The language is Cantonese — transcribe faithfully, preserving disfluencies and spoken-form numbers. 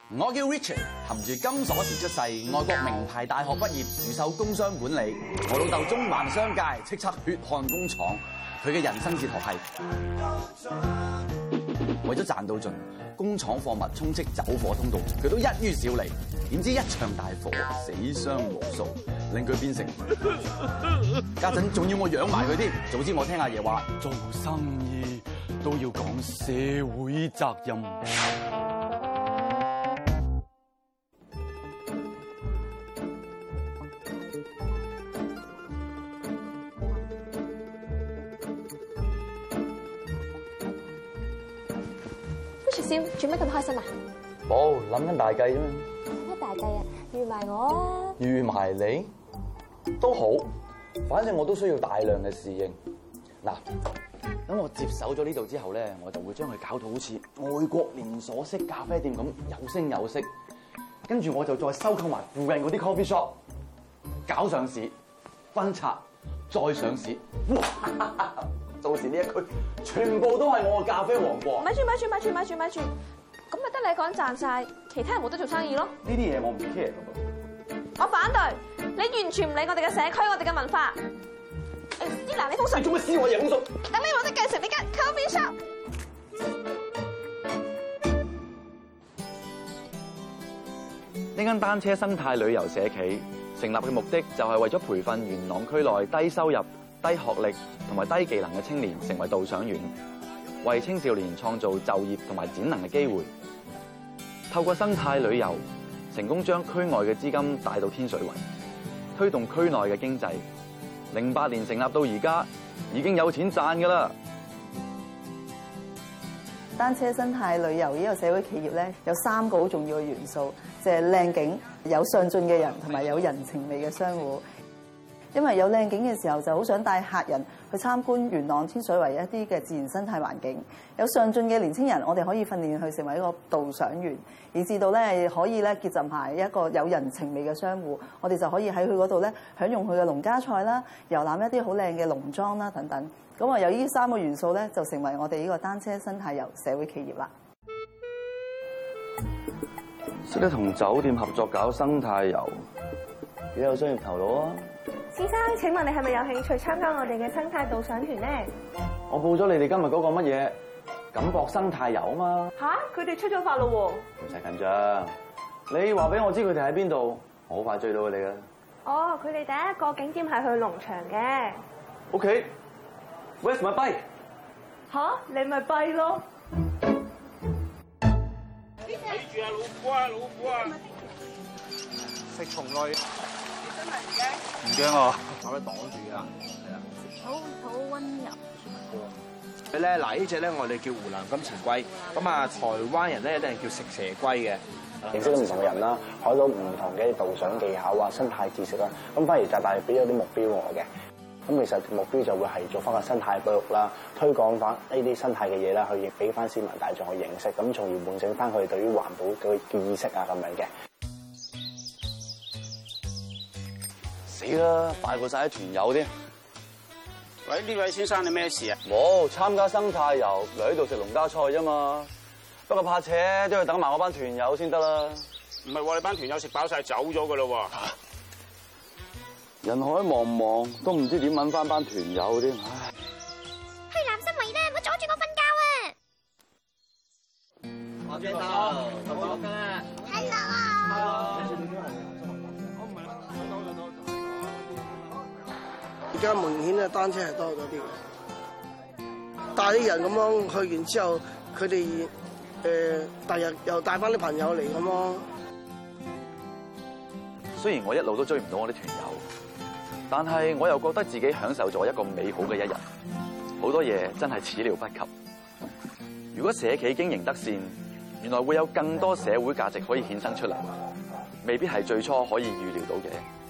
我叫 Richard， 含住金鎖匙出世，外國名牌大學畢業，主修工商管理。我老豆中環商界，叱咤血汗工廠。佢嘅人生哲學係為咗賺到盡，工廠貨物充斥走火通道，佢都一於少理。點知一場大火，死傷無數，令佢變成家陣仲要我養埋佢添。早知我聽阿爺話，做生意都要講社會責任。 笑，做咩咁開心啊？ 冇，諗緊大計啫嘛。 乜大計啊？預埋我啊！ 預埋你都好，反正我都需要大量嘅侍應。嗱，等我接手咗呢度之後咧，我就會將佢搞到好似外國連鎖式咖啡店咁有聲有色。跟住我就再收購埋附近嗰啲 coffee shop， 搞上市、分拆、再上市。哇！到時呢一區全部都係我嘅咖啡王國。 咪住咪住咪住咪住咪住，咁咪得你一個人賺晒，其他人冇得做生意咯。 呢啲嘢我唔 care 噶噃。 我反對，你完全唔理我哋嘅社區，我哋嘅文化。誒，嗱，你封信。 你做乜撕我嘢封信？ 等你冇得繼承呢間 coffee shop。 呢間單車生態旅遊社企成立嘅目的就係為咗培訓元朗區內低收入、低學歷同埋低技能嘅青年成為導賞員，為青少年創造就業同埋展能嘅機會。透過生態旅遊，成功將區外嘅資金帶到天水圍，推動區內嘅經濟。零八年成立到而家，已經有錢賺㗎啦。 單車生態旅遊呢個社會企業咧，有三個好重要嘅元素，就係靚景、有上進嘅人同埋有人情味嘅商戶。因為有靚景嘅時候，就好想帶客人去參觀元朗天水圍一啲嘅自然生態環境。有上進嘅年輕人，我哋可以訓練佢成為一個導賞員，以至到咧可以咧結集埋一個有人情味嘅商戶。我哋就可以喺佢嗰度咧享用佢嘅農家菜啦，遊覽一啲好靚嘅農莊啦等等。咁啊，有呢三個元素咧，就成為我哋呢個單車生態遊社會企業啦。 識得同酒店合作搞生態遊，幾有商業頭腦啊！ 先生，請問你係咪有興趣參加我哋嘅生態導賞團咧？ 我報咗你哋今日嗰個乜嘢錦博生態遊啊嘛！ 吓，佢哋出咗發咯喎！ 唔使緊張，你話俾我知佢哋喺邊度，我好快追到佢哋㗎。 哦，佢哋第一個景點係去農場嘅。 OK，Where's my bike？ 吓，你咪跛咯！ 睇住啊，老虎啊，老虎啊！食蟲類。唔驚啊！我都擋住㗎，係啊， 好好溫柔。 佢咧嗱，呢隻咧我哋叫湖南金錢龜，咁啊台灣人咧一定係叫食蛇龜嘅。 認識咗唔同嘅人啦，學到唔同嘅導賞技巧啊、生態知識啦，咁反而就大俾咗啲目標我嘅。咁其實目標就會係做翻個生態保育啦，推廣翻呢啲生態嘅嘢啦，去俾翻市民大眾去認識，咁從而喚醒翻佢哋對於環保嘅嘅意識啊咁樣嘅。 死啦！快過晒啲團友添。 喂，呢位先生你咩事啊？ 冇參加生態遊，嚟呢度食農家菜啫嘛。不過怕扯，都要等埋我班團友先得啦。 唔係喎，你班團友食飽晒走咗噶咯喎。 人海茫茫，都唔知點揾翻班團友添。唉。 去南生圍啦，唔好阻住我瞓覺啊！ 我見到，我跟啊。Hello。 而家明顯啊，單車係多咗啲嘅，帶啲人咁樣去完之後，佢哋誒第日又帶翻啲朋友嚟咁咯。 雖然我一路都追唔到我啲團友，但係我又覺得自己享受咗一個美好嘅一日。好多嘢真係始料不及。如果社企經營得善，原來會有更多社會價值可以衍生出嚟，未必係最初可以預料到嘅。